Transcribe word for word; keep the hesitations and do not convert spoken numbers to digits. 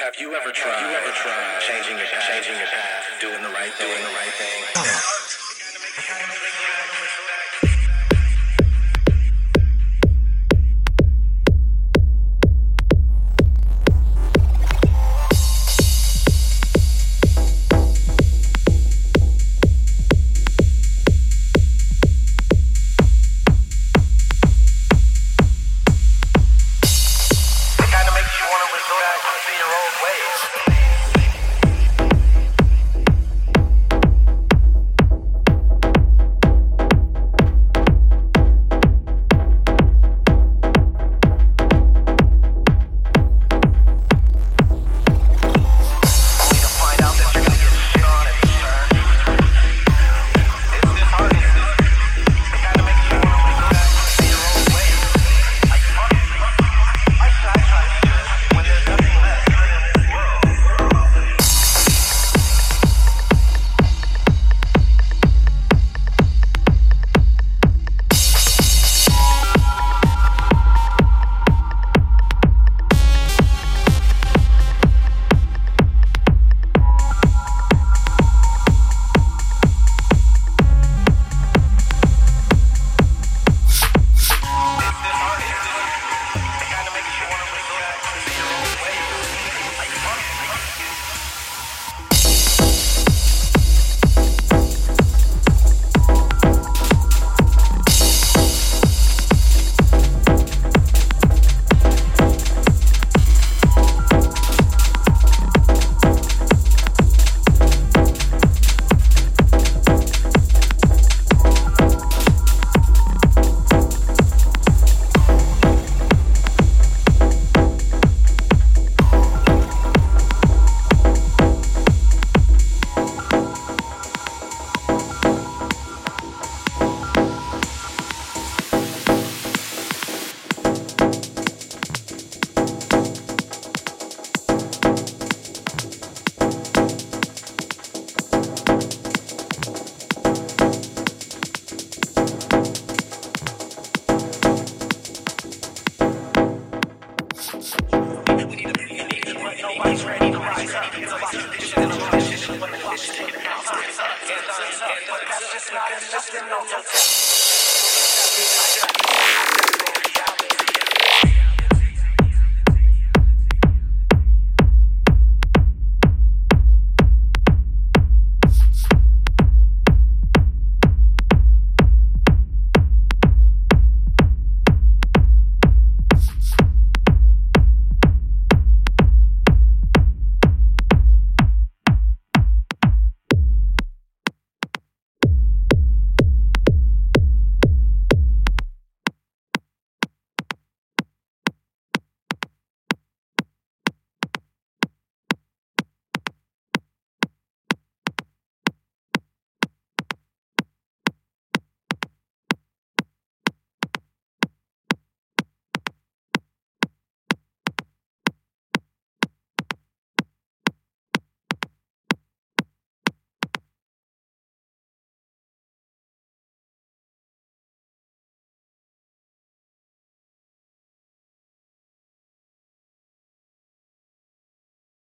Have you ever tried? Have you ever tried changing your path, changing your path, doing the right thing, doing the right thing? Yeah. Nobody's ready to rise up. It's about tradition and tradition, but the tradition taking the house. But that's just not enough to know.